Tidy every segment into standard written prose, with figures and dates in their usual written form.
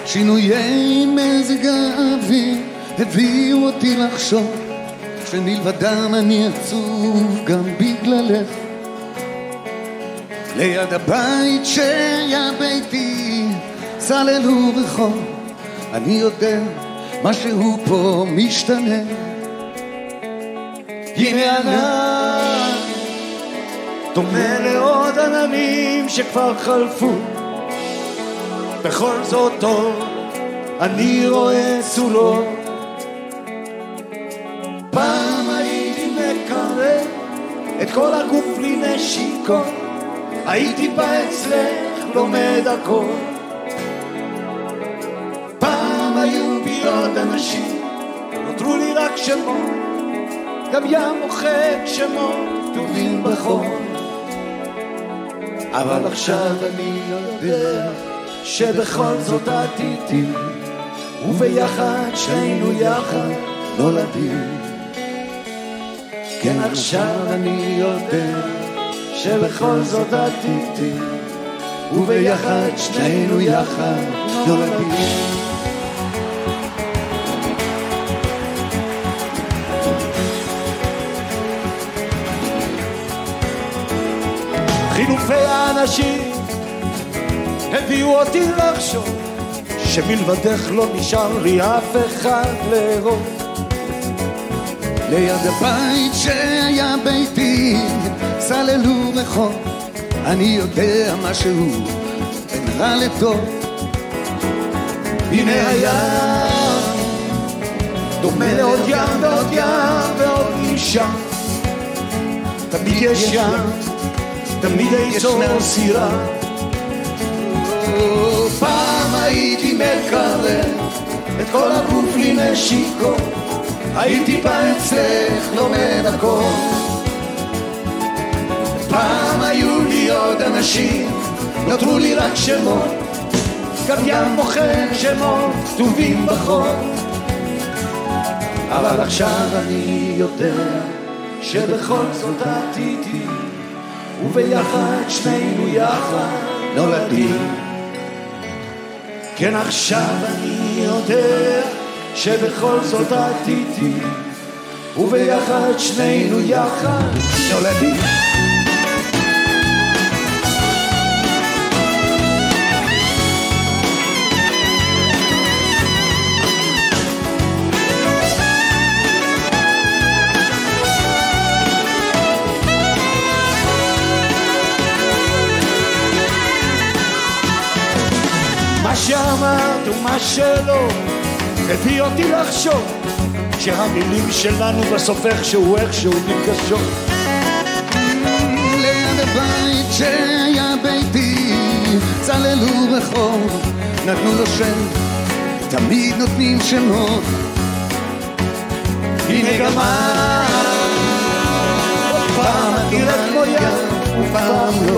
שינויי מזג האוויר הביאו אותי לחשוב שמלבדם אני עצוב גם בגללך. ליד הבית שהיה ביתי צללו רחוב, אני יודע משהו פה משתנה. הנה ענן דומה לעוד עננים שכבר חלפו, בכל זאת טוב אני רואה צולות. פעם הייתי מקרב את כל הגוף בלי נשיקות, הייתי בא אצלך לומד הכל. פעם היו בי עוד אנשים, נותרו לי רק שמות, גם ים מוחק שמות כתובים בחול. אבל עכשיו אני יודע שבכל זאת את איתי, וביחד שנינו יחד נולדים. כן עכשיו אני יודע שבכל זאת את איתי, וביחד שנינו יחד נולדים. חילופי האנשים הביאו אותי לחשוב שמלבדך לא נשאר לי אף אחד לאהוב. ליד הבית שהיה ביתי צללו רחוב, אני יודע משהו בין רע לטוב. הנה הים דומה לעוד ים ועוד ים ועוד אישה, תמיד יש ים, תמיד יצור סירה. פעם הייתי מקרב את כל הגוף לי נשיקות, הייתי בא אצלך לומד הכל. פעם היו לי עוד אנשים, נותרו לי רק שמות, גם ים מוחק שמות כתובים בחול. אבל עכשיו אני יודע שבכל זאת את איתי, וביחד שנינו יחד נולדים. כן עכשיו אני יודע שבכל זאת את איתי, וביחד שנינו יחד נולדים. מה שאמרת ומה שלא הביא אותי לחשוב שהמילים שלנו בסוף איכשהו נפגשות. ליד הבית שהיה ביתי צללו רחוב, נתנו לו שם, תמיד נותנים שמות. הנה גם פעם את נראית כמו ים ופעם לא,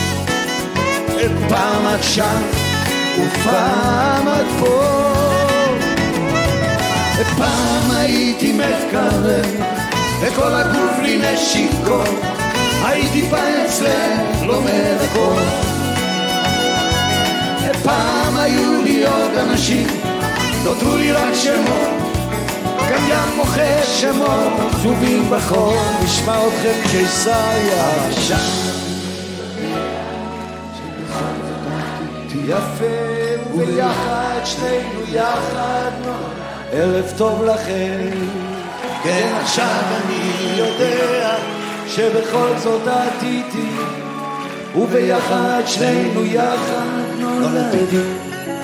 פעם את שם ופעם את פה. פעם הייתי מקרב וכל הגוף לי נשיקות, הייתי בא אצלך לומד הכל. פעם היו לי עוד אנשים, נותרו לי רק שמות, גם ים מוחק שמות כתובים בחול. נשמע אתכם קיסריה עכשיו יפה וביחד שנינו יחד ערב טוב לכם. כן עכשיו אני יודע שבכל זאת את איתי, וביחד שנינו יחד נולדים.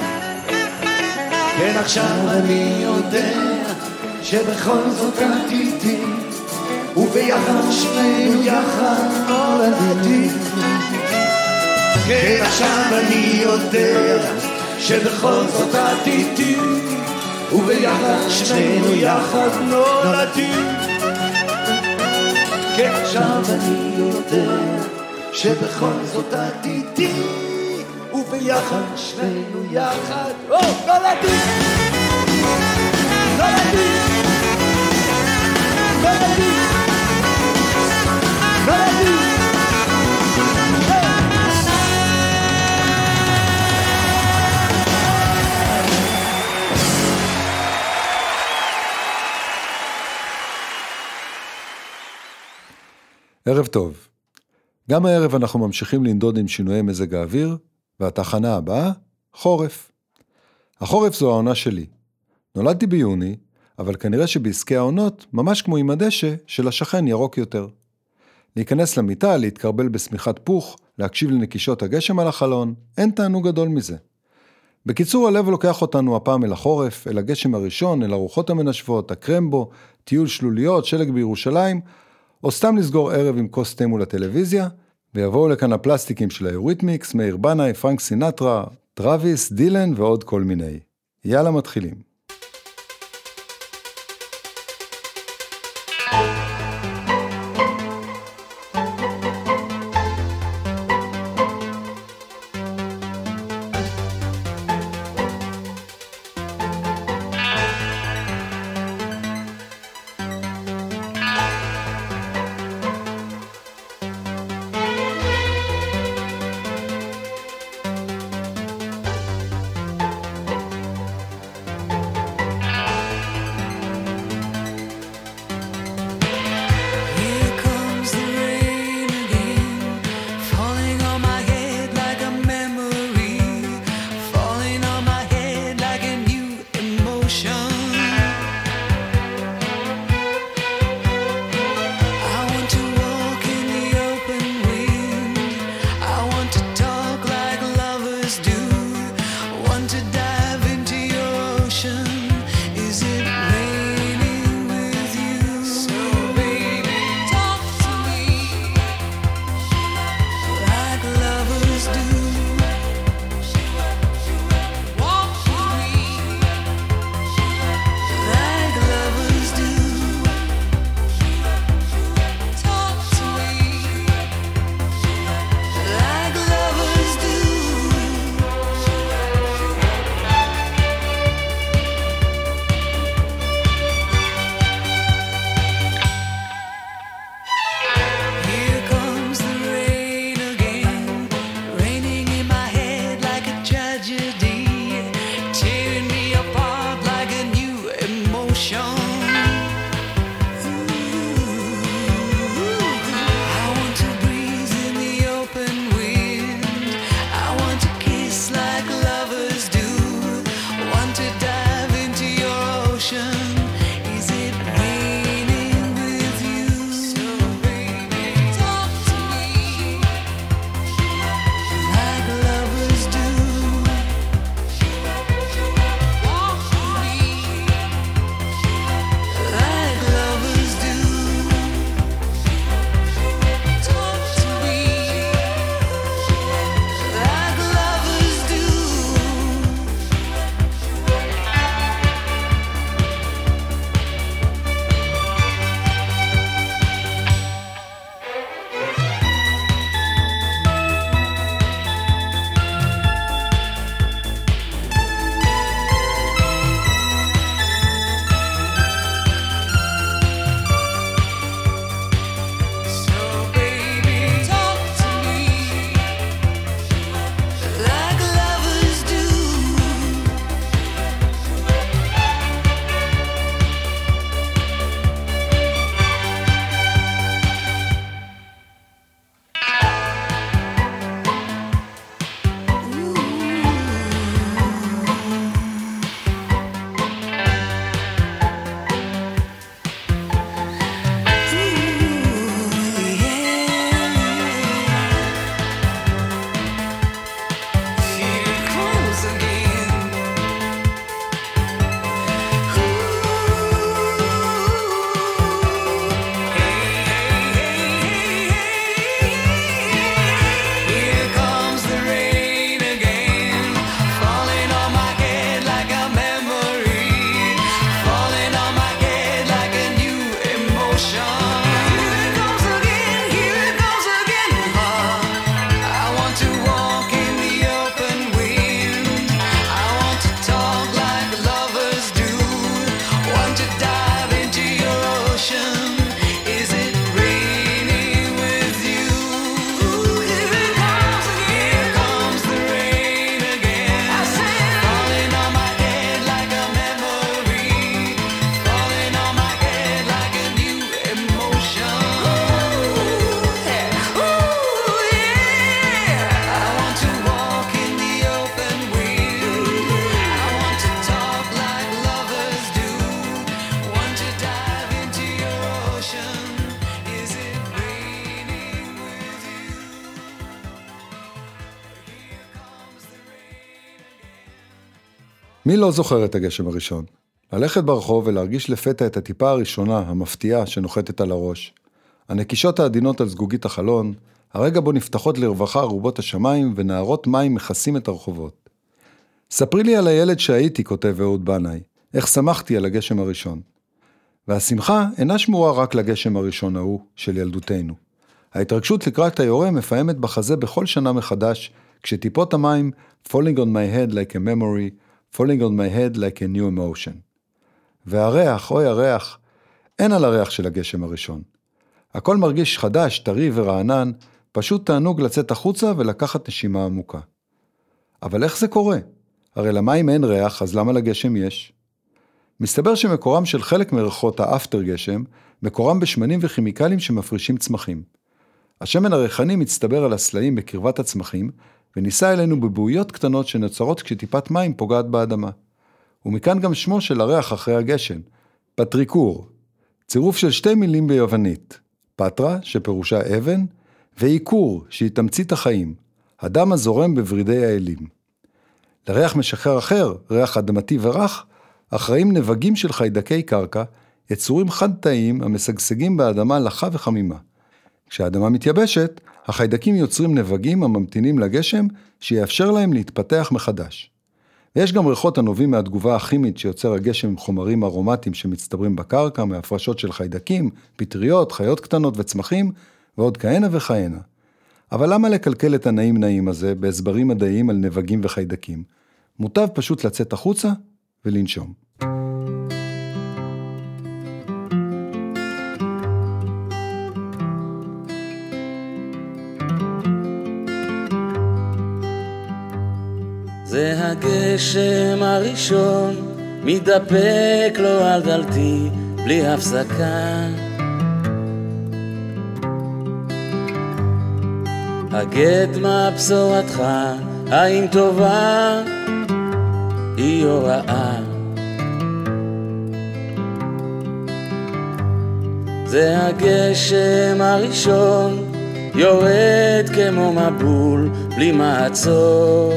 כן עכשיו אני יודע שבכל זאת את איתי, וביחד שנינו יחד נולדים. כן עכשיו אני יודע שבכל זאת את איתי, וביחד שנינו יחד נולדים. כן עכשיו אני יודע שבכל זאת את איתי, וביחד שנינו יחד נולדים. נולדים נולדים נולדים. ערב טוב. גם הערב אנחנו ממשיכים לנדוד עם שינויי מזג האוויר, והתחנה הבאה, חורף. החורף זו העונה שלי. נולדתי ביוני, אבל כנראה שבעסקי העונות, ממש כמו עם הדשא, של השכן ירוק יותר. להיכנס למיטה, להתקרבל בסמיכת פוך, להקשיב לנקישות הגשם על החלון, אין תענוג גדול מזה. בקיצור, הלב לוקח אותנו הפעם אל החורף, אל הגשם הראשון, אל הרוחות המנשבות, הקרמבו, טיול שלוליות, שלג בירושלים, או סתם לסגור ערב עם כוס תה מול הטלוויזיה, ויבואו לכאן הפלסטיקים של היוריתמיקס, מאיר בנאי, פרנק סינטרה, טרוויס, דילן ועוד כל מיני. יאללה מתחילים. מי לא זוכר את הגשם הראשון? ללכת ברחוב ולהרגיש לפתע את הטיפה הראשונה, המפתיעה, שנוחתת על הראש. הנקישות העדינות על זגוגית החלון, הרגע בו נפתחות לרווחה רובות השמיים ונערות מים מכסים את הרחובות. ספרי לי על הילד שהייתי, כותב אהוד בנאי, איך שמחתי על הגשם הראשון. והשמחה אינה שמורה רק לגשם הראשון ההוא של ילדותנו. ההתרגשות לקראת היורה מפעמת בחזה בכל שנה מחדש, כשטיפות המים falling on my head like a memory, falling on my head like a new emotion. והריח, אוי הריח, אין על הריח של הגשם הראשון. הכל מרגיש חדש, טרי ורענן, פשוט תענוג לצאת החוצה ולקחת נשימה עמוקה. אבל איך זה קורה? הרי למים אין ריח, אז למה לגשם יש? מסתבר שמקורם של חלק מריחות האפטר גשם, מקורם בשמנים וכימיקלים שמפרישים צמחים. השמן הריחני מצטבר על הסלעים בקרבת הצמחים, וניסה אלינו בבועיות קטנות שנוצרות כשטיפת מים פוגעת באדמה. ומכאן גם שמו של הריח אחרי הגשם, פטריקור, צירוף של שתי מילים ביוונית, פטרה, שפירושה אבן, ואיקור, שהיא תמצית החיים, הדם הזורם בברידי האלים. לריח משחרר אחר, ריח אדמתי ורח, אחראים נבגים של חיידקי קרקע, יצורים חד-תאיים המשגשגים באדמה לחה וחמימה. כשהאדמה מתייבשת, החיידקים יוצרים נבגים הממתינים לגשם, שיאפשר להם להתפתח מחדש. ויש גם ריחות הנובעים מהתגובה הכימית שיוצר הגשם עם חומרים ארומטיים שמצטברים בקרקע, מהפרשות של חיידקים, פטריות, חיות קטנות וצמחים, ועוד כהנה וכהנה. אבל למה לקלקל את הנעים הזה בהסברים מדעיים על נבגים וחיידקים? מוטב פשוט לצאת החוצה ולנשום. זה הגשם הראשון, מתדפק לו על דלתי בלי הפסקה. הגד מה בשורתך, האם טובה היא הוראה. זה הגשם הראשון, יורד כמו מבול בלי מעצור.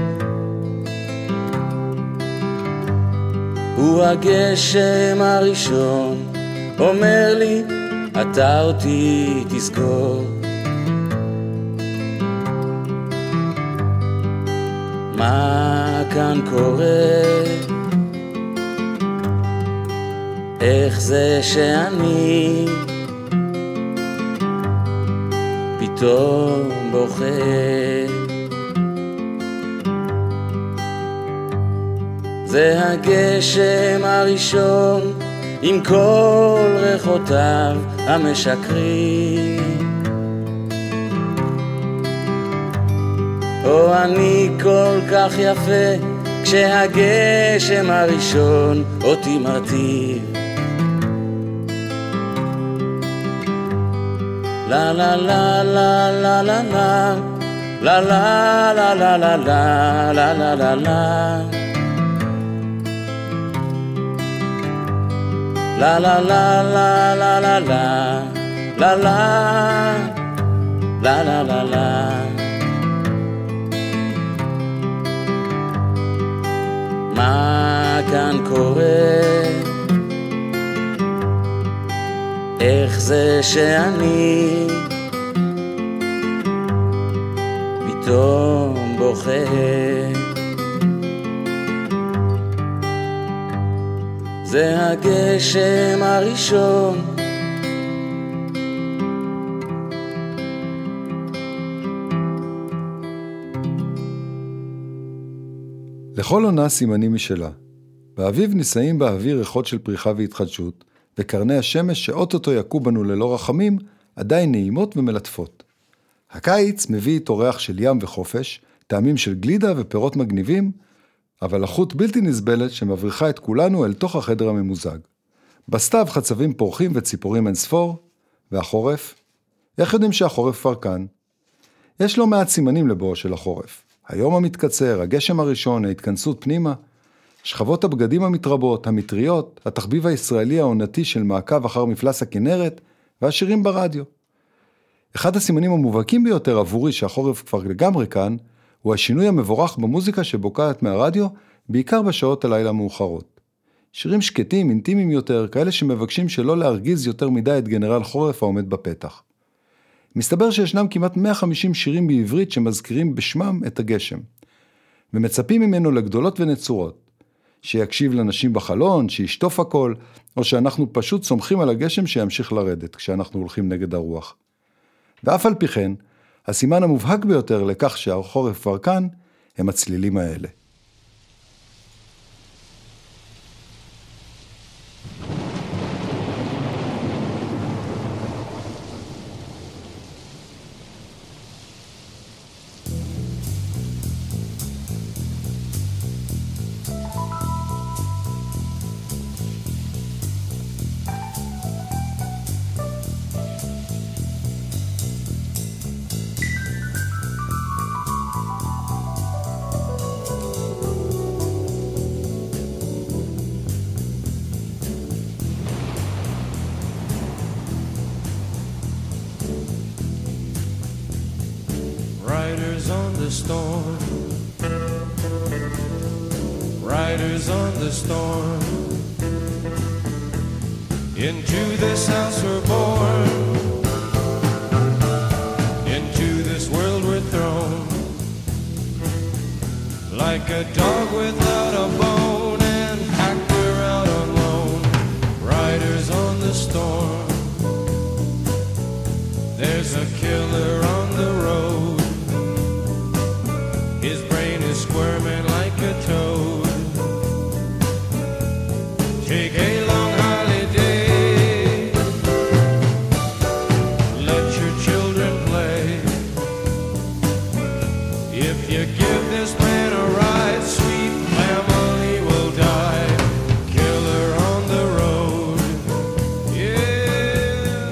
הוא הגשם הראשון, אומר לי, אתה אותי תזכור. מה כאן קורה? איך זה שאני פתאום בוכה? זה הגשם הראשון עם כל ריחותיו המשקרים. או אני כל כך יפה כשהגשם הראשון אותי מרטיב. לה לה לה לה לה לה לה לה לה לה לה לה לה לה לה לה La la la la la la la la la la la la la. מה כאן קורה? איך זה שאני פתאום בוכה? זה הגשם הראשון. לכל עונה סימנים משלה. באביב נישאים באוויר ריחות של פריחה והתחדשות, וקרני השמש שאוטוטו יקו בנו ללא רחמים, עדיין נעימות ומלטפות. הקיץ מביא איתו ריח של ים וחופש, טעמים של גלידה ופירות מגניבים, אבל לחות בלתי נסבלת שמבריחה את כולנו אל תוך החדר הממוזג. בסתיו חצבים פורחים וציפורים אין ספור, והחורף? איך יודעים שהחורף כבר כאן? יש לא מעט סימנים לבואו של החורף. היום המתקצר, הגשם הראשון, ההתכנסות פנימה, שכבות הבגדים המתרבות, המטריות, התחביב הישראלי העונתי של מעקב אחר מפלס הכנרת, והשירים ברדיו. אחד הסימנים המובהקים ביותר עבורי שהחורף כבר לגמרי כאן, הוא השינוי המבורך במוזיקה שבוקעת מהרדיו, בעיקר בשעות הלילה מאוחרות. שירים שקטים, אינטימיים יותר, כאלה שמבקשים שלא להרגיז יותר מדי את גנרל חורף העומד בפתח. מסתבר שישנם כמעט 150 שירים בעברית שמזכירים בשמם את הגשם, ומצפים ממנו לגדולות ונצורות, שיקשיב לנשים בחלון, שישטוף הכל, או שאנחנו פשוט סומכים על הגשם שימשיך לרדת כשאנחנו הולכים נגד הרוח. ואף על פי כן, הסימן המובהק ביותר לכך שהחורף כבר כאן, הם הצלילים האלה. Riders on the storm, riders on the storm. Into this house we're born, into this world we're thrown, like a dog without a bone, and packed we're out alone. Riders on the storm, there's a killer on the road. His brain is squirming like a toad. Take a long holiday, let your children play. If you give this man a ride, sweet family will die. Killer on the road, yeah.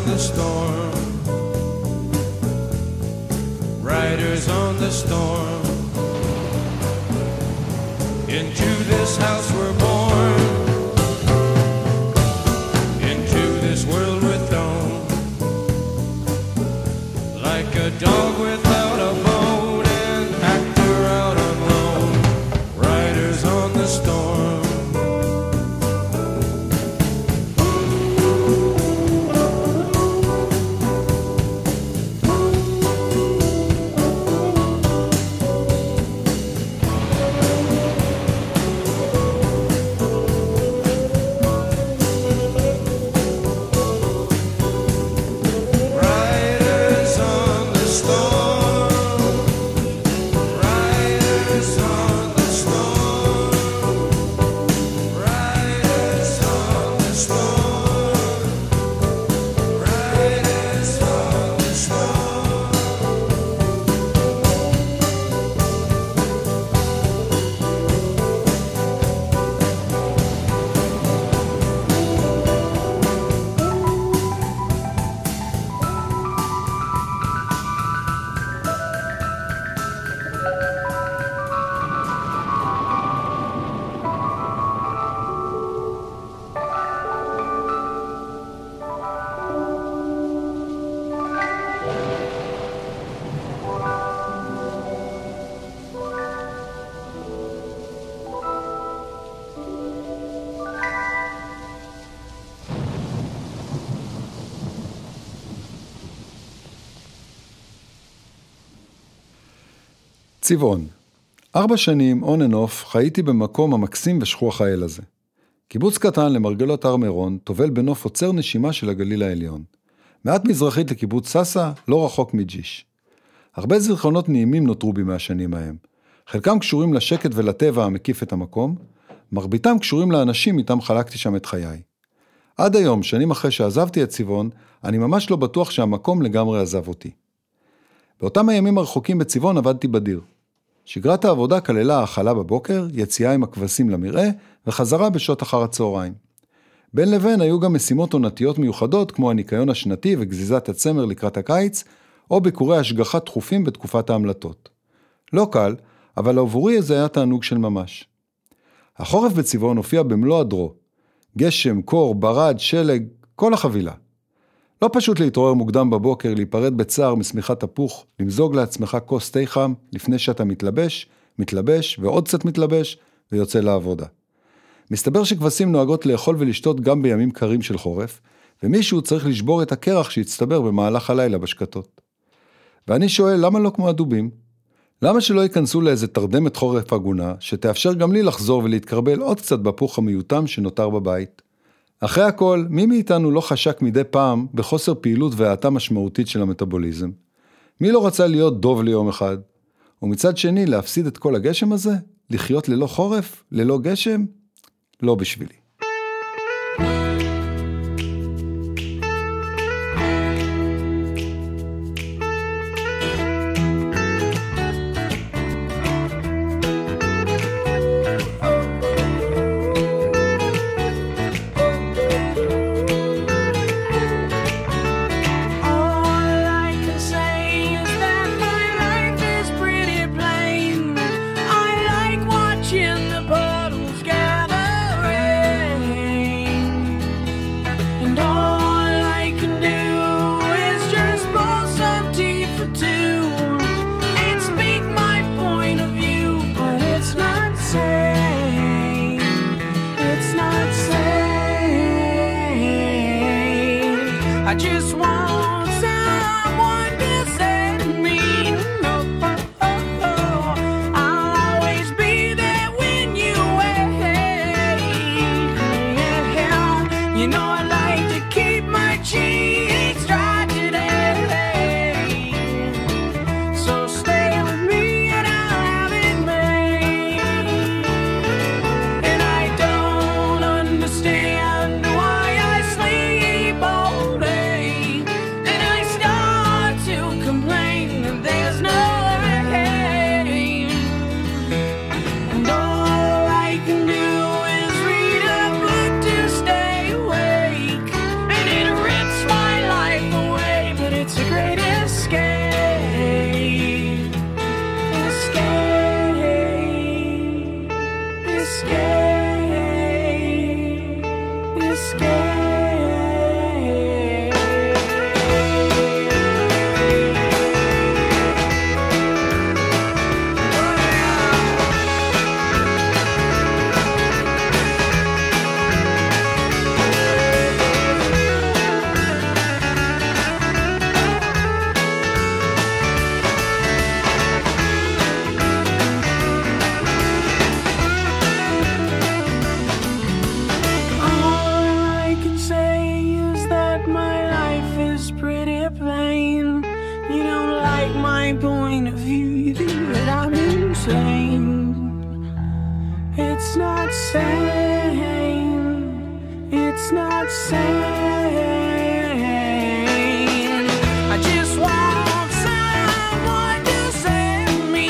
the storm. Riders on the storm. Into this house we're born. Into this world we're thrown. Like a dog without a bone, an actor out on loan. Riders on the storm. צבעון. 4 שנים, on and off, חייתי במקום המקסים ושכוח האל הזה. קיבוץ קטן למרגלות הר מירון, תובל בנוף עוצר נשימה של הגליל העליון. מעט מזרחית לקיבוץ ססה, לא רחוק מג'יש. הרבה זיכרונות נעימים נותרו בי מהשנים ההם. חלקם קשורים לשקט ולטבע המקיף את המקום, מרביתם קשורים לאנשים איתם חלקתי שם את חיי. עד היום, שנים אחרי שעזבתי את צבעון, אני ממש לא בטוח שהמקום לגמרי עזב אותי. באותם הימים הרחוקים בצבעון עבדתי בדיר. שגרת העבודה כללה האכלה בבוקר, יציאה עם הכבשים למרעה, וחזרה בשעות אחר הצהריים. בין לבין היו גם משימות עונתיות מיוחדות, כמו הניקיון השנתי וגזיזת הצמר לקראת הקיץ, או ביקורי השגחה תכופים בתקופת ההמלטות. לא קל, אבל עבורי זה היה תענוג של ממש. החורף בצבעון הופיע במלוא הדרו. גשם, קור, ברד, שלג, כל החבילה. לא פשוט להתעורר מוקדם בבוקר, להיפרד בצער מסמיכת תפוח, למזוג לעצמך כוס תה חם, לפני שאתה מתלבש ועוד קצת מתלבש, ויוצא לעבודה. מסתבר שכבשים נוהגות לאכול ולשתות גם בימים קרים של חורף, ומישהו צריך לשבור את הקרח שהצטבר במהלך הלילה בשקטות. ואני שואל, למה לא כמו הדובים? למה שלא ייכנסו לאיזה תרדמת חורף הגונה, שתאפשר גם לי לחזור ולהתקרבל עוד קצת בפוך המיותם שנותר בבית? אחרי הכל, מי מאיתנו לא חשק מדי פעם בחוסר פעילות והאטה משמעותית של המטאבוליזם? מי לא רצה להיות דוב ליום אחד? ומצד שני, להפסיד את כל הגשם הזה? לחיות ללא חורף? ללא גשם? לא בשבילי. In the puddles gather same. It's not sane. It's not sane. I just want someone to save me.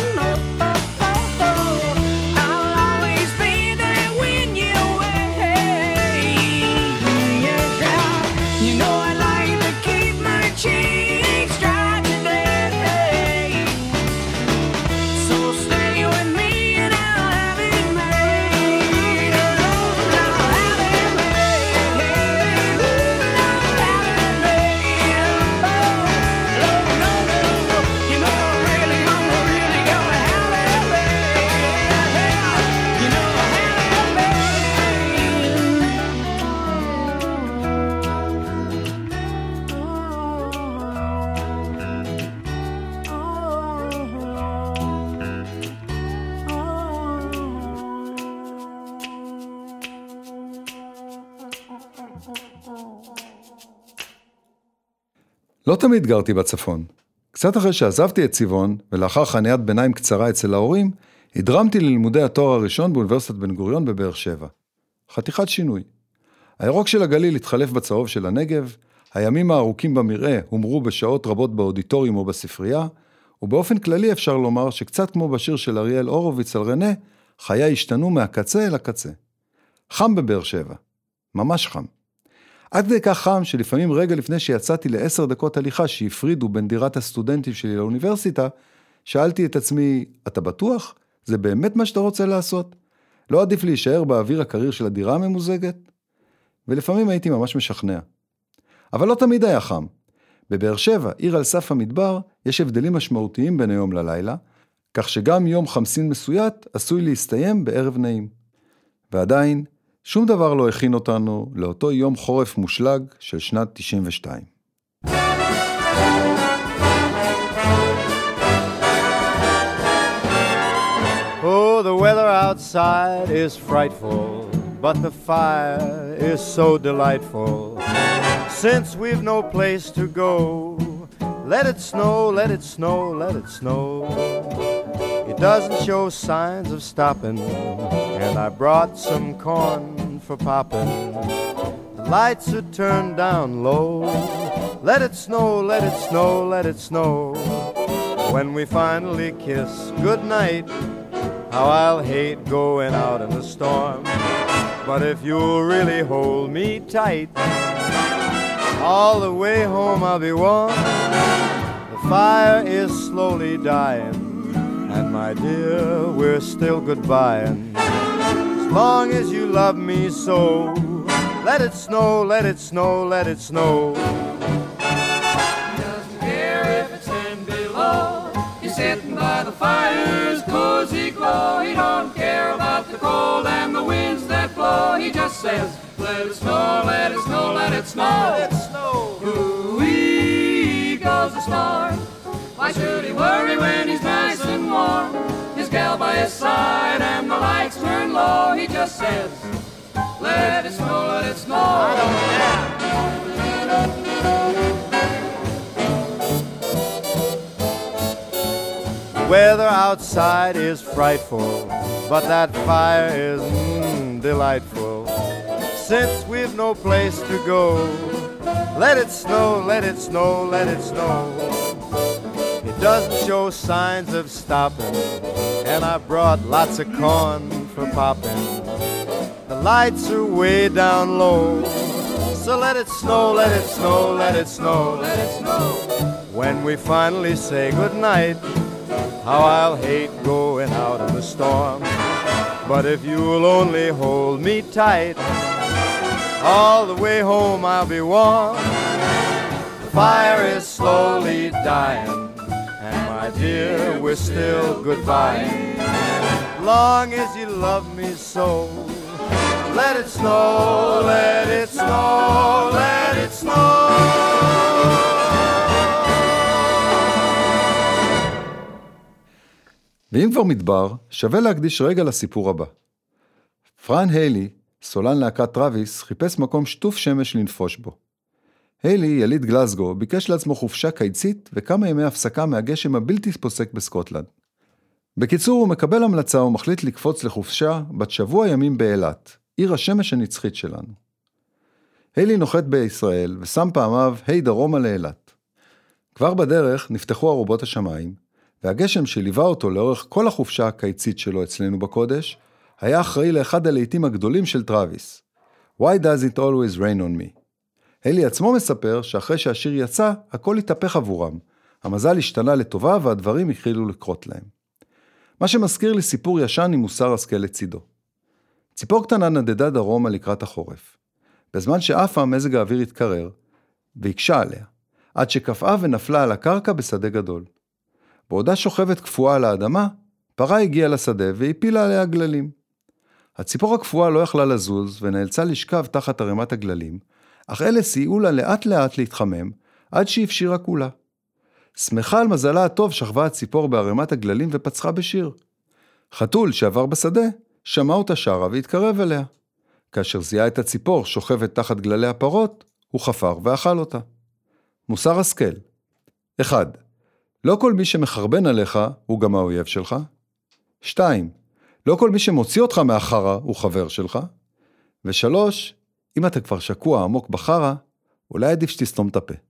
I'll always be there when you're away. Yeah. You know I like to keep my cheeks dry today. So stay with me and I'll have it made. I'll have it made. I'll have it made. No. You know I'm really gonna have it made. You know I'll have it לא תמיד גרתי בצפון. קצת אחרי שעזבתי את צבעון, ולאחר חניית ביניים קצרה אצל ההורים, הדרמתי ללימודי התואר הראשון באוניברסיטת בן גוריון בבאר שבע. חתיכת שינוי. הירוק של הגליל התחלף בצהוב של הנגב, הימים הארוכים במראה הומרו בשעות רבות באודיטוריום או בספרייה, ובאופן כללי אפשר לומר שקצת כמו בשיר של אריאל הורוביץ על רנה, חיי השתנו מהקצה אל הקצה. חם בבאר שבע. ממש חם. עד כדי כך חם שלפעמים רגע לפני שיצאתי ל10 דקות הליכה שהפרידו בין דירת הסטודנטים שלי לאוניברסיטה, שאלתי את עצמי, אתה בטוח? זה באמת מה שאתה רוצה לעשות? לא עדיף להישאר באוויר הקריר של הדירה הממוזגת? ולפעמים הייתי ממש משכנע. אבל לא תמיד היה חם. בבאר שבע, עיר על סף המדבר, יש הבדלים משמעותיים בין היום ללילה, כך שגם יום חמסין מסוית עשוי להסתיים בערב נעים. ועדיין, שום דבר לא הכין אותנו לאותו יום חורף מושלג של שנת 92. Oh, the weather outside is frightful, but the fire is so delightful. Since we've no place to go, let it snow, let it snow, let it snow. It doesn't show signs of stopping, and I brought some corn for popping. The lights are turned down low. Let it snow, let it snow, let it snow. When we finally kiss goodnight, how I'll hate going out in the storm. But if you'll really hold me tight, all the way home I'll be warm. The fire is slowly dying, and my dear, we're still goodbying. As long as you love me so, let it snow, let it snow, let it snow. He doesn't care if it's 10 below. He's sitting by the fire's cozy glow. He don't care about the cold and the winds that blow. He just says, let it snow, let it snow, let it snow. Let it snow. Ooh-wee goes the star. Why should he worry when he's nice and warm? His gal by his side and the lights turn low. He just says, let it snow, let it snow. I don't care. The weather outside is frightful, but that fire is delightful. Since we've no place to go, let it snow, let it snow, let it snow. It doesn't show signs of stopping, and I brought lots of corn for popping. The lights are way down low, so let it snow, let it snow, let it snow, let it snow. When we finally say goodnight, how I'll hate going out in the storm. But if you'll only hold me tight, all the way home I'll be warm. The fire is slowly dying, and my dear, we're still goodbye. Long as you love me so, let it snow, let it snow, let it snow. ואם כבר מדבר, שווה להקדיש רגע לסיפור הבא. פרן היילי, סולן להקת טרוויס, חיפש מקום שטוף שמש לנפוש בו. היילי, יליד גלסגו, ביקש לעצמו חופשה קיצית וכמה ימי הפסקה מהגשם הבלתי פוסק בסקוטלנד. בקיצור, הוא מקבל המלצה ומחליט לקפוץ לחופשה בת שבוע ימים באילת, עיר השמש הנצחית שלנו. היילי נוחת בישראל ושם פעמיו דרומה לאילת. כבר בדרך נפתחו ארובות השמיים, והגשם שליווה אותו לאורך כל החופשה הקיצית שלו אצלנו בקודש, היה אחראי לאחד הלהיטים הגדולים של טראביס. Why does it always rain on me? היילי עצמו מספר שאחרי שהשיר יצא, הכל התהפך עבורם. המזל השתנה לטובה והדברים התחילו לקרות להם. מה שמזכיר לי סיפור ישן עם מוסר השכל לצידו. ציפור קטנה נדדה דרומה לקראת החורף. בזמן שאפה מזג האוויר התקרר, והקשה עליה, עד שקפאה ונפלה על הקרקע בשדה גדול. בעודה שוכבת קפואה על האדמה, פרה הגיעה לשדה והפילה עליה גללים. הציפור הקפואה לא יכלה לזוז ונאלצה לשכב תחת ערימת הגללים, אך אלה סייעו לה לאט לאט להתחמם, עד שהפשירה כולה. שמחה על מזלה הטוב שכבה הציפור בערימת הגללים ופצחה בשיר. חתול שעבר בשדה, שמע אותה שרה והתקרב אליה. כאשר זיהה את הציפור שוכבת תחת גללי הפרות, הוא חפר ואכל אותה. מוסר השכל. 1. לא כל מי שמחרבן עליך הוא גם האויב שלך. 2. לא כל מי שמוציא אותך מהחרה הוא חבר שלך. 3. אם אתה כבר שקוע עמוק בחרה, אולי עדיף שתסתום את הפה.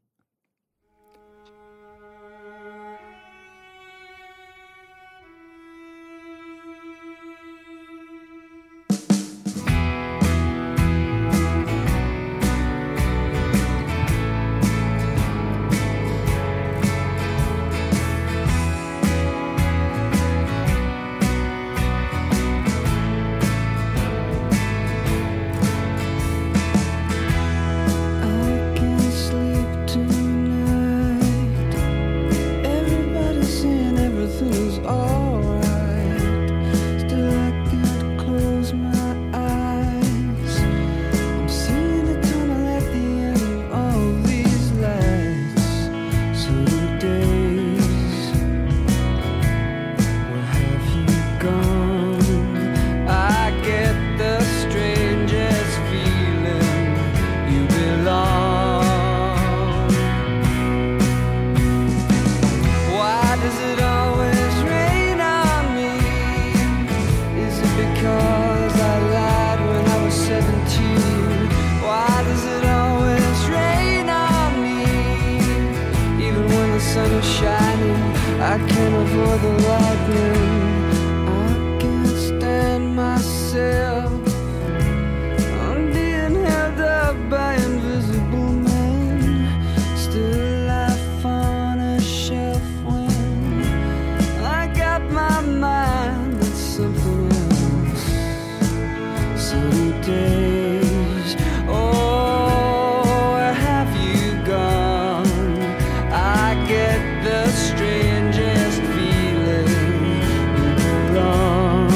I can't avoid the lightning. I can't stand myself. I'm being held up by invisible men. Still life on a shelf when I got my mind on something else. Sunny days, oh, where have you gone? I get the strangest feeling you belong.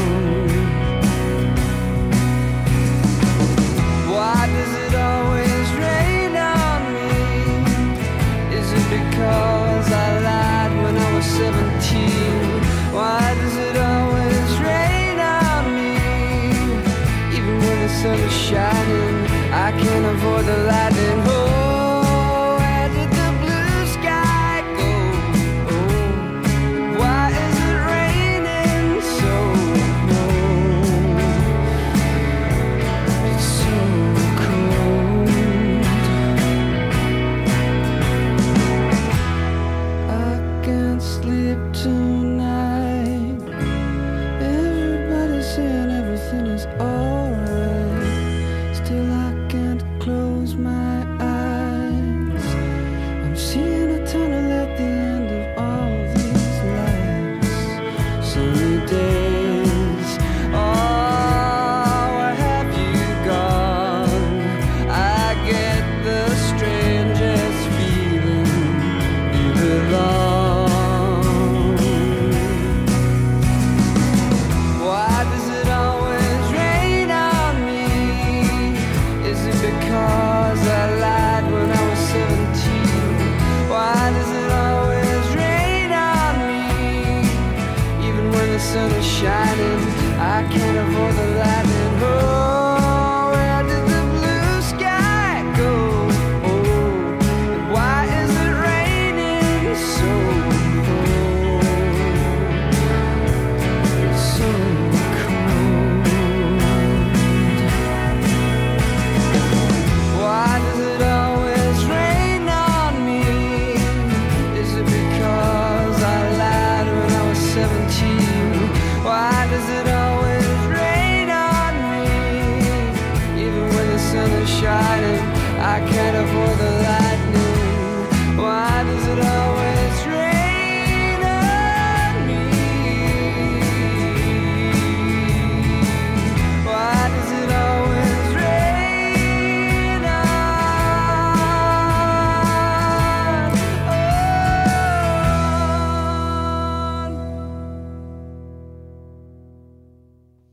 Why does it always rain on me? Is it because I lied when I was 17? Why does it always rain on me? Even when the sun is shining, I can't avoid the lightning. Oh, where did the blue sky go? Oh, why is it raining so cold? It's so cold. I can't sleep tonight. Everybody's saying everything is alright. Still I can't close my eyes. I'm seeing a tunnel at the end of all these lights. Sunny days, oh, where have you gone? I get the strangest feeling you belong. Why does it always rain on me? Is it because I lied when I was 17? Why does it always rain on me? Even when the sun is shining, I can't avoid the lightning. Oh, where did the blue sky go? Oh, and why is it raining so cold?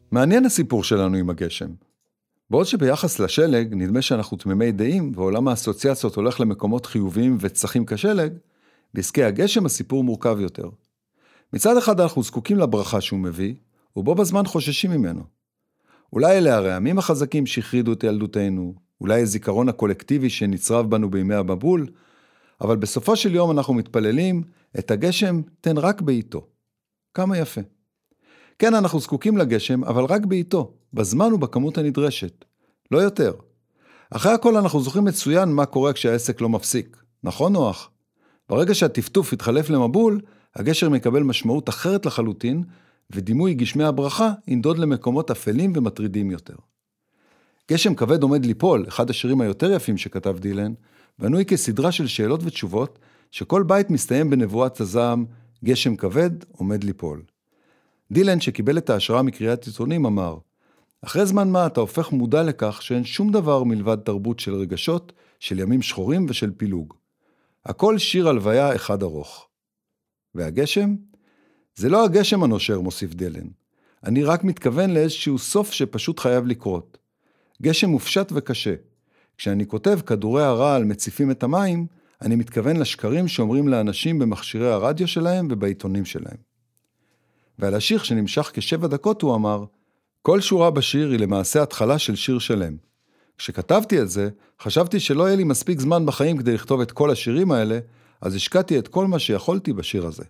מעניין הסיפור שלנו עם הגשם. בעוד שביחס לשלג נדמה שאנחנו תמימי דעים, ועולם האסוציאציות הולך למקומות חיוביים וצחים כשלג, בעסקי הגשם הסיפור מורכב יותר. מצד אחד אנחנו זקוקים לברכה שהוא מביא, ובו בזמן חוששים ממנו. אולי אלה הרעמים החזקים שהחרידו את ילדותנו, אולי הזיכרון הקולקטיבי שנצרב בנו בימי המבול, אבל בסופו של יום אנחנו מתפללים, את הגשם תן רק בעיתו. כמה יפה. כן, אנחנו זקוקים לגשם, אבל רק בעיתו, בזמן ובכמות הנדרשת. לא יותר. אחרי הכל אנחנו זוכרים מצוין מה קורה כשהעסק לא מפסיק. נכון נוח? ברגע שהטפטוף יתחלף למבול, הגשם מקבל משמעות אחרת לחלוטין, ודימוי גשמי הברכה ינדוד למקומות אפלים ומטרידים יותר. גשם כבד עומד ליפול, אחד השירים היותר יפים שכתב דילן, בנוי כסדרה של שאלות ותשובות, שכל בית מסתיים בנבואת הזעם, גשם כבד עומד ליפול. דילן שקיבל את ההשראה מקריאת עיתונים אמר, אחרי זמן מה אתה הופך מודע לכך שאין שום דבר מלבד תרבות של רגשות, של ימים שחורים ושל פילוג. הכל שיר הלוויה אחד ארוך. והגשם? זה לא הגשם הנושר, מוסיף דילן. אני רק מתכוון לאיזשהו סוף שפשוט חייב לקרות. גשם מופשט וקשה. כשאני כותב כדורי הרעל מציפים את המים, אני מתכוון לשקרים שאומרים לאנשים במכשירי הרדיו שלהם ובעיתונים שלהם. ועל השיר שנמשך כ7 דקות הוא אמר, כל שורה בשיר היא למעשה התחלה של שיר שלם. כשכתבתי את זה, חשבתי שלא יהיה לי מספיק זמן בחיים כדי לכתוב את כל השירים האלה, אז השקעתי את כל מה שיכולתי בשיר הזה.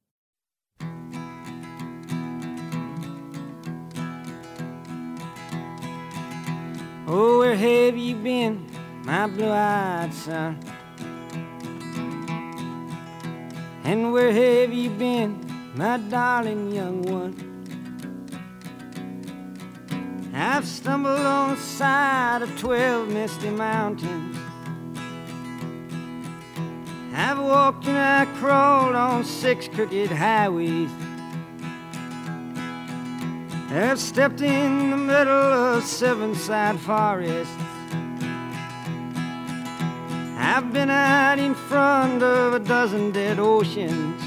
Oh, where have you been, my blue-eyed son? And where have you been, my darling young one? I've stumbled on the side of 12 misty mountains. I've walked and I crawled on 6 crooked highways. I've stepped in the middle of 7 sad forests. I've been out in front of a dozen dead oceans.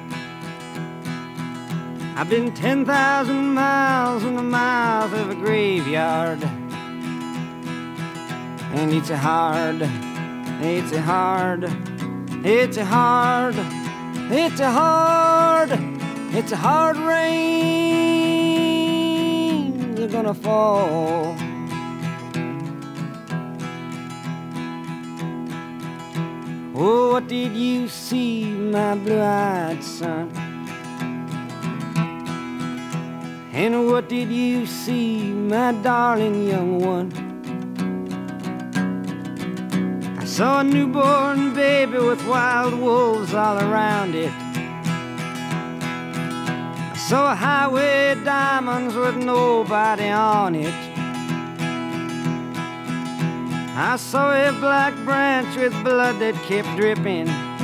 I've been 10,000 miles in the mouth of a graveyard. And it's a hard rain they're gonna fall. Oh, what did you see, my blue-eyed son? And what did you see, my darling young one? I saw a newborn baby with wild wolves all around it. I saw a highway of diamonds with nobody on it. I saw a black branch with blood that kept dripping.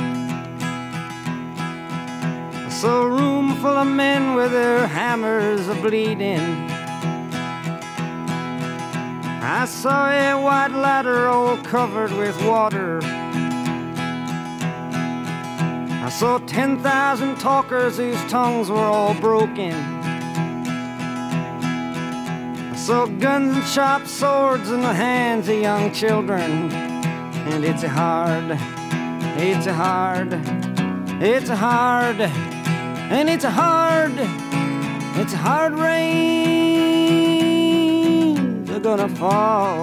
I saw a room full of men with their hammers a-bleeding. I saw a white ladder all covered with water. I saw 10,000 talkers whose tongues were all broken. I saw guns and sharp swords in the hands of young children. And it's a hard rain they're gonna fall.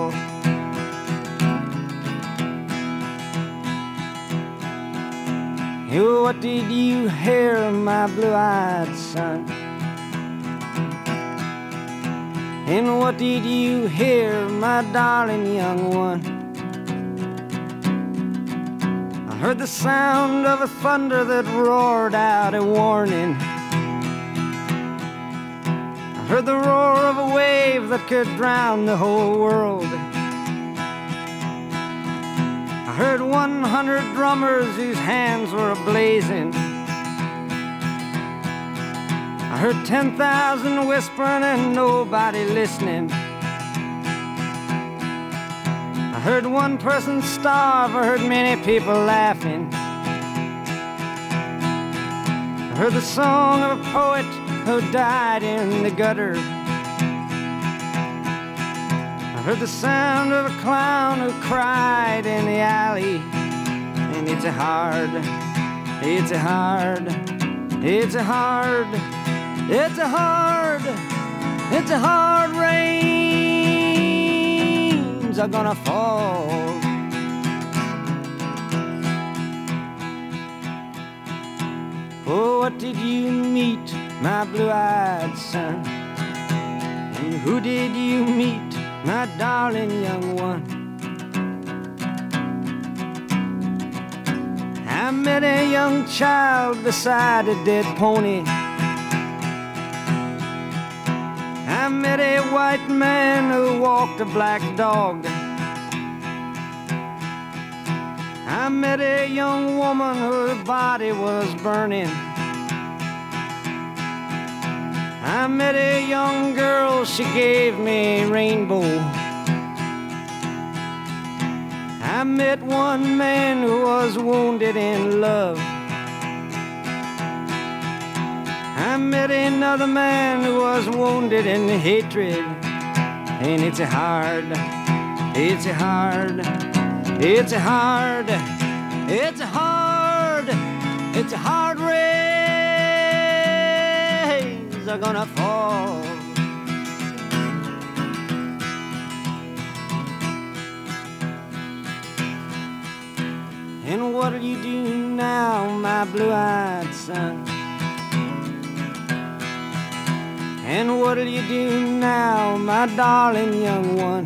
What did you hear, my blue-eyed son? And what did you hear, my darling young one? I heard the sound of a thunder that roared out a warning. I heard the roar of a wave that could drown the whole world. I heard 100 drummers whose hands were ablazing. I heard 10,000 whispering and nobody listening. I heard one person starve, I heard many people laughing. I heard the song of a poet who died in the gutter. heard the sound of a clown who cried in the alley. And it's a hard, it's a hard, it's a hard, it's a hard, it's a hard rains are gonna fall. Oh, what did you meet, my blue-eyed son? And who did you meet, my darling young one? I met a young child beside a dead pony. I met a white man who walked a black dog. I met a young woman whose body was burning. I met a young girl, she gave me a rainbow. I met one man who was wounded in love. I met another man who was wounded in hatred. And it's a hard, it's a hard, it's a hard, it's a hard, it's a hard rains are gonna fall. And what'll you do now, my blue-eyed son? And what'll you do now, my darling young one?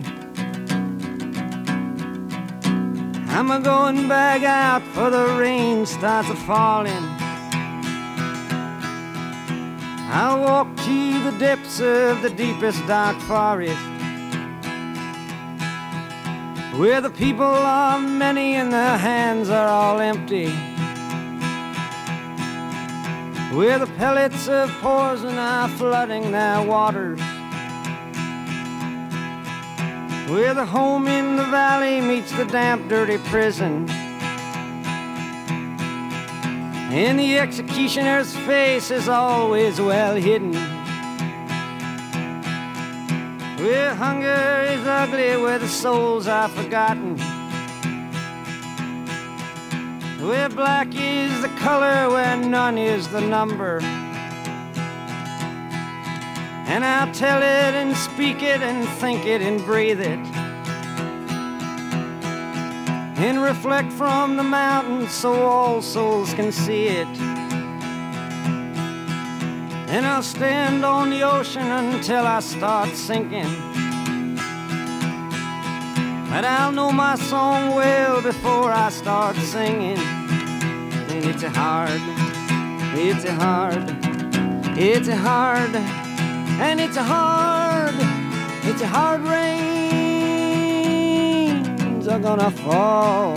I'm a-going back out for the rain starts a-falling. I'll walk to the depths of the deepest dark forest, where the people are many and their hands are all empty, where the pellets of poison are flooding their waters, where the home in the valley meets the damp, dirty prison, and the executioner's face is always well hidden, where hunger is ugly, where the souls are forgotten, where black is the color, where none is the number. And I'll tell it and speak it and think it and breathe it, and reflect from the mountains so all souls can see it. And I'll stand on the ocean until I start sinking, but I'll know my song well before I start singing. And it's a hard, it's a hard, it's a hard, and it's a hard, it's a hard rains are gonna fall.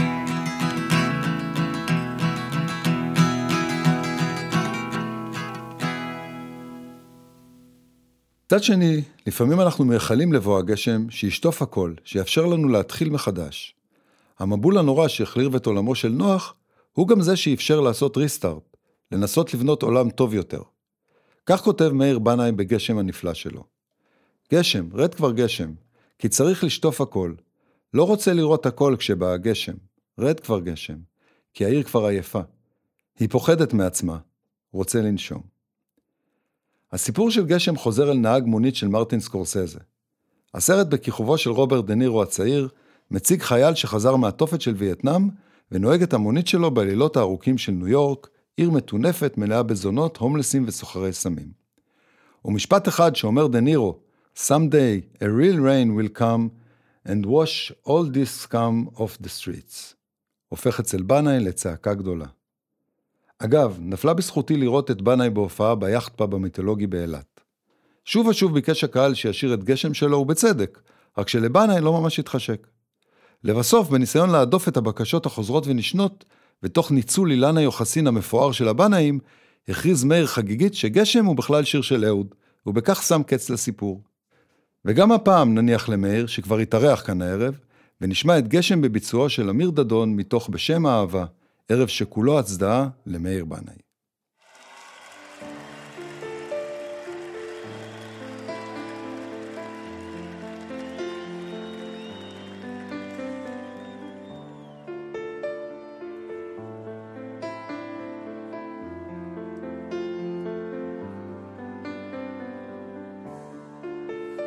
מצד שני, לפעמים אנחנו מייחלים לבוא הגשם שישטוף הכל, שיאפשר לנו להתחיל מחדש. המבול הנורא שהחליר את עולמו של נוח, הוא גם זה שאפשר לעשות ריסטארט, לנסות לבנות עולם טוב יותר. כך כותב מאיר בנאי בגשם הנפלא שלו. גשם, רד כבר גשם, כי צריך לשטוף הכל. לא רוצה לראות הכל כשבא הגשם, רד כבר גשם, כי העיר כבר עייפה. היא פוחדת מעצמה, רוצה לנשום. הסיפור של גשם חוזר אל נהג מונית של מרטין סקורסזה. הסרט בכיכובו של רוברט דה נירו הצעיר, מציג חייל שחזר מהתופת של וייטנאם, ונוהג את המונית שלו בלילות הארוכים של ניו יורק, עיר מטונפת מלאה בזונות, הומלסים וסוחרי סמים. ומשפט אחד שאומר דה נירו, Someday a real rain will come and wash all this scum off the streets. הופך אצל בנאי לצעקה גדולה. אגב, נפלה בזכותי לראות את בנאי בהופעה ביאכט פאב המיתולוגי באילת. שוב ושוב ביקש הקהל שישיר את גשם שלו ובצדק, רק שלבנאי לא ממש התחשק. לבסוף, בניסיון להדוף את הבקשות החוזרות ונשנות, ותוך ניצול אילן היוחסין המפואר של הבנאים, הכריז מאיר חגיגית שגשם הוא בכלל שיר של אהוד, ובכך שם קץ לסיפור. וגם הפעם נניח למאיר, שכבר התארח כאן הערב, ונשמע את גשם בביצועו של אמיר דדון מתוך בשם האהבה, ערב שכולו הצדעה למאיר בנאי.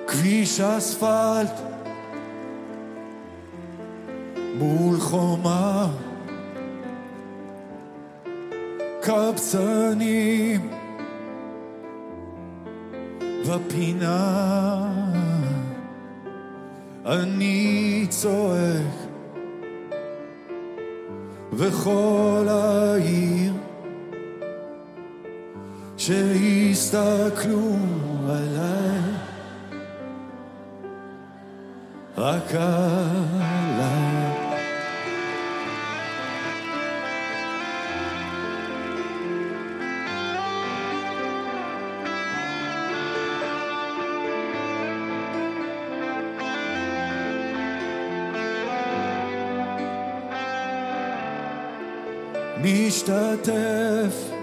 כביש אספלט מול חומה, קבצנים בפינה, אני צועק בכל העיר שיסתכלו עליי, רק עליי. משתתף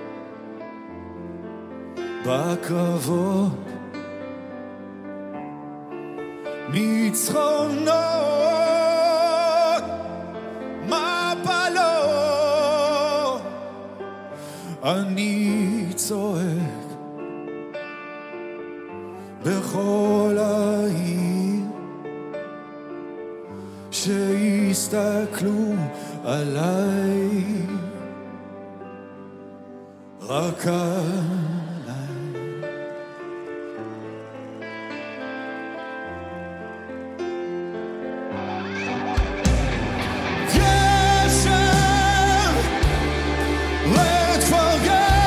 בקרבות, ניצחונות, מפלות, אני צועק בכל העיר שיסתכלו עליי, רק עליי. גשם, רד כבר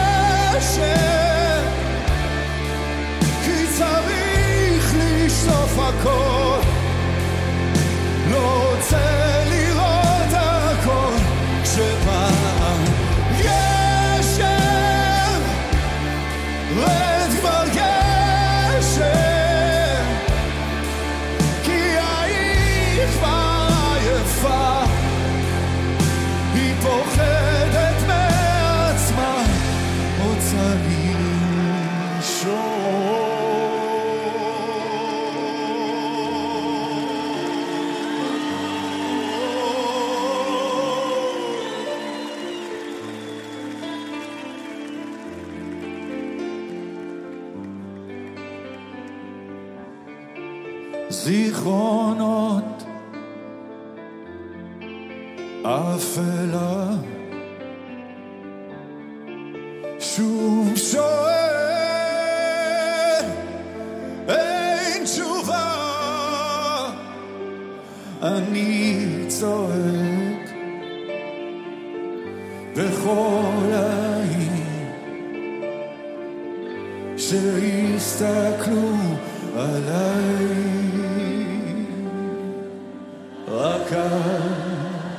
גשם, כי צריך לשטוף הכל, לא רוצה לראות הכל כשפעם גשם, רד כבר גשם, כי העיר כבר עייפה, היא פוחדת מעצמה, רוצה לישון. זיכרונות אפלה, שוב שואל, אין תשובה, אני צועק בכל העיר שיסתכלו עליי, רק עליי.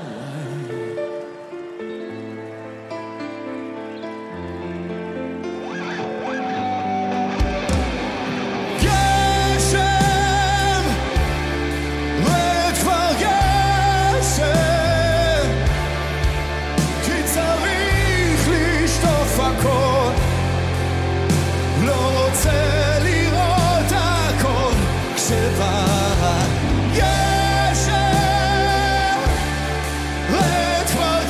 גשם, רד כבר גשם, כי צריך לשטוף הכל, לא רוצה לראות הכל כשבא גשם, רד כבר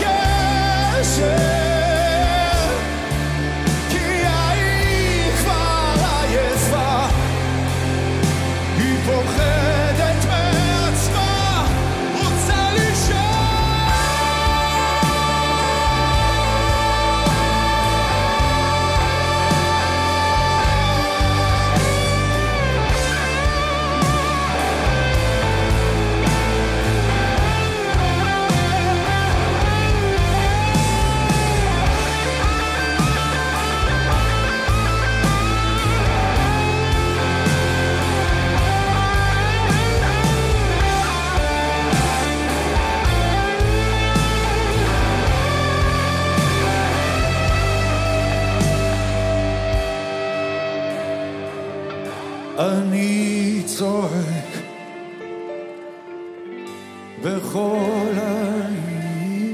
גשם, כי העיר כבר עייפה, היא פוחדת מעצמה, רוצה אני צועק בכל העיר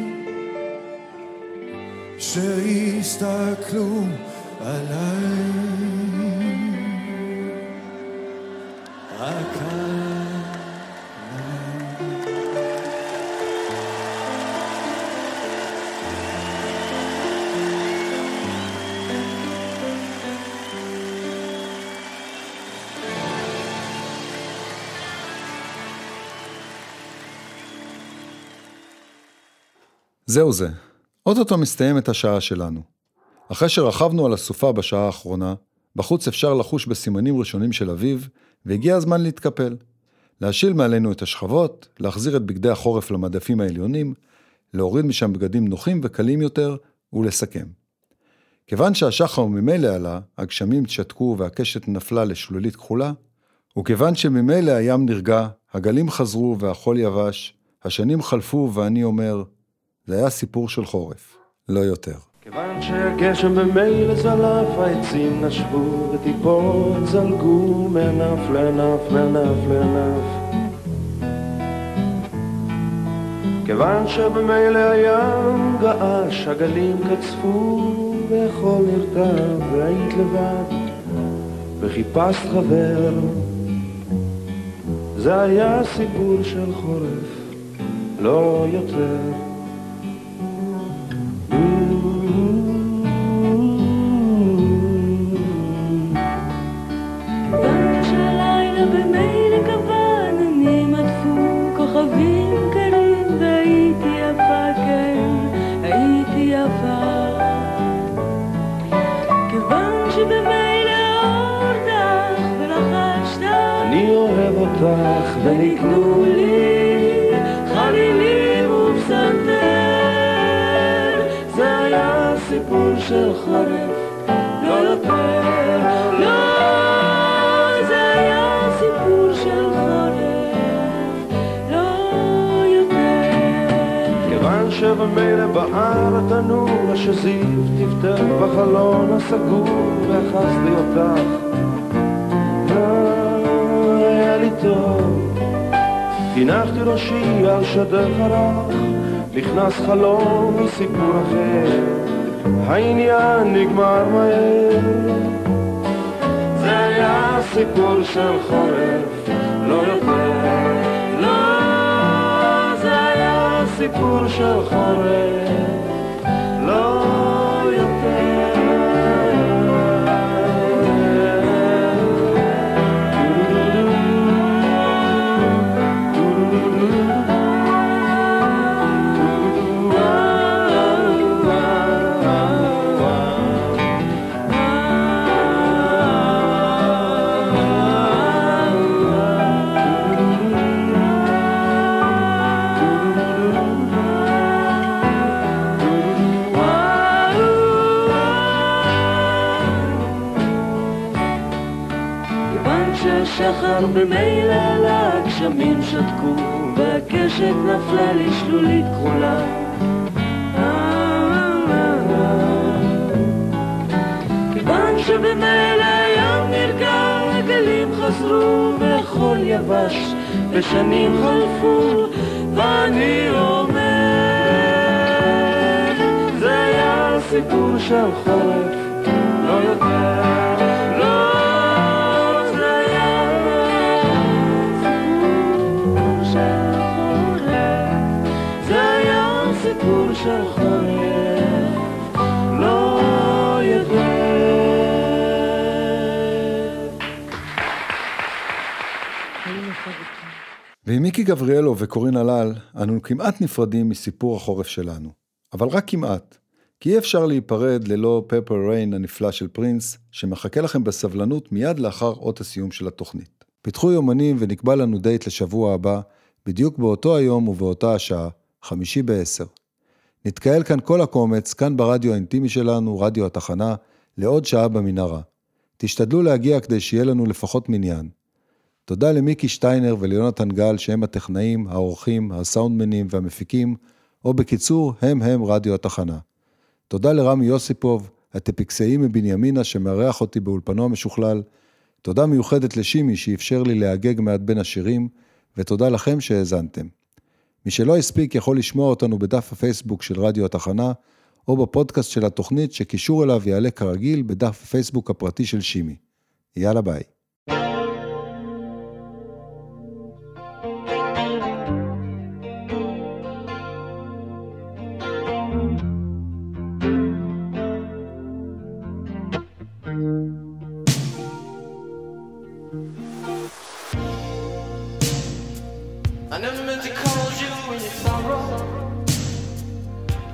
שיסתכלו עליי, רק עליי. זהו זה, אוטוטו מסתיימת השעה שלנו. אחרי שרכבנו על הסופה בשעה האחרונה, בחוץ אפשר לחוש בסימנים ראשונים של אביב, והגיע הזמן להתקפל. להשיל מעלינו את השכבות, להחזיר את בגדי החורף למדפים העליונים, להוריד משם בגדים נוחים וקלים יותר, ולסכם. כיוון שהשחר ממילא עלה, הגשמים תשתקו והקשת נפלה לשלולית כחולה, וכיוון שממילא הים נרגע, הגלים חזרו והחול יבש, השנים חלפו ואני אומר, זה היה סיפור של חורף, לא יותר. כיוון שהגשם במילא זלף, העצים נשבו וטיפות זלגו מענף לענף, מענף לענף. כיוון שבמילא הים געש, הגלים קצפו והחול נרטב, והיית לבד וחיפשת חבר. זה היה סיפור של חורף, לא יותר. כיוון שהלילה במילא כבן, עננים עטפו כוכבים קרים, והייתי יפה, כן, הייתי יפה. כיוון שבמילא האור דח ולחשת, אני אוהב אותך ונקנו לי חלילים ופסנתר. זה היה סיפור של חורף, לא יותר. לא, זה היה סיפור של חורף, לא יותר. כיוון שבמילא בער התנור, השזיף טפטף בחלון הסגור, ואחזתי אותך, היה לי טוב. הנחתי ראשי על שדך הרך, נכנס חלום מסיפור אחר, העניין נגמר מהר. זה היה סיפור של חורף, לא יותר. לא, זה היה סיפור של חורף, לא יותר. שחר במילא עלה, הגשמים שתקו, והקשת נפלה לשלולית כחולה. כיוון שבמילא הים נרגע, הגלים חזרו והחול יבש, ושנים חלפו, ואני אומר, זה היה סיפור של חורף, לא יותר. סיפור של חורף, לא יותר. ועם מיקי גבריאלו וקורין הלל, אנו כמעט נפרדים מסיפור החורף שלנו. אבל רק כמעט, כי אי אפשר להיפרד ללא פפר ריין הנפלא של פרינס, שמחכה לכם בסבלנות מיד לאחר אות הסיום של התוכנית. פיתחו יומנים ונקבע לנו דייט לשבוע הבא, בדיוק באותו היום ובאותה השעה, 5:50. נתקהל כאן כל הקומץ, כאן ברדיו האינטימי שלנו, רדיו התחנה, לעוד שעה במנהרה. תשתדלו להגיע כדי שיהיה לנו לפחות מניין. תודה למיקי שטיינר וליונתן גל שהם הטכנאים, האורחים, הסאונדמנים והמפיקים, או בקיצור, הם רדיו התחנה. תודה לרמי יוסיפוב, הטפיקסאי מבנימינה שמארח אותי באולפנו המשוכלל. תודה מיוחדת לשימי שאפשר לי להגג מעט בין השירים, ותודה לכם שהאזנתם. מי שלא הספיק יכול לשמוע אותנו בדף הפייסבוק של רדיו התחנה, או בפודקאסט של התוכנית שקישור אליו יעלה כרגיל בדף הפייסבוק הפרטי של שימי. יאללה ביי. I never meant to cause you any sorrow.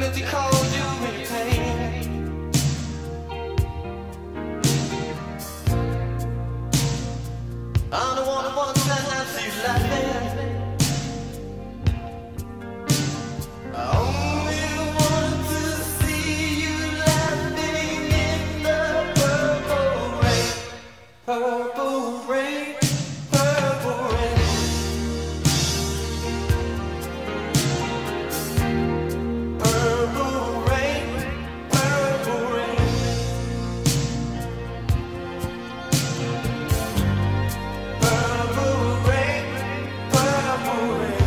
Infinity calls you in pain. I'm the one who wants to see you laughing. I only want to see you laughing in the purple rain. Purple rain, purple rain. Purple rain, purple rain. Purple rain, purple rain.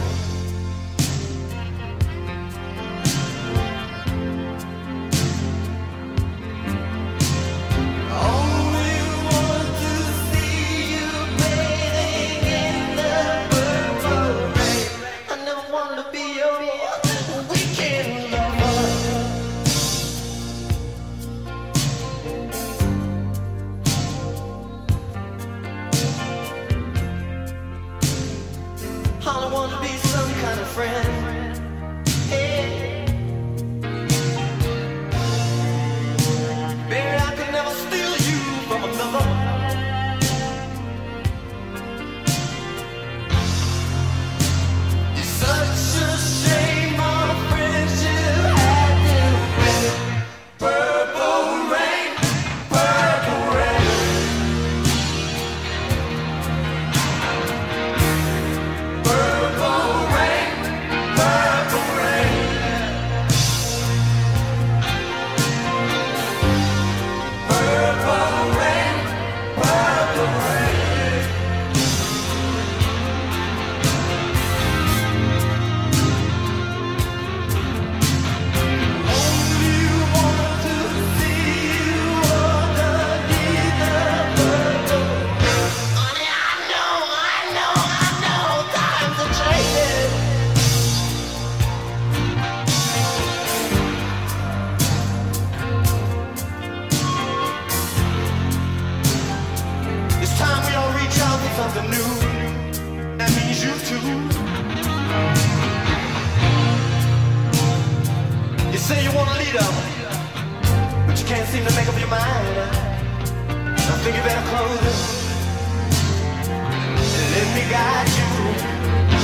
Only want to see you bathing in the purple rain. I never wanted to be your weekend lover. All I want to be some kind of friend. Hey. Baby, I could never steal you from another. It's such a shame our friendship had to end. Purple rain, purple rain. Purple rain, purple rain. Purple rain, purple rain. Only want to see you underneath the purple rain. Honey, I know, times are changing. It's time we all reach out for something new. That means you too. You say you want a leader, but you can't seem to make up your mind. I think you better close it and let me guide you.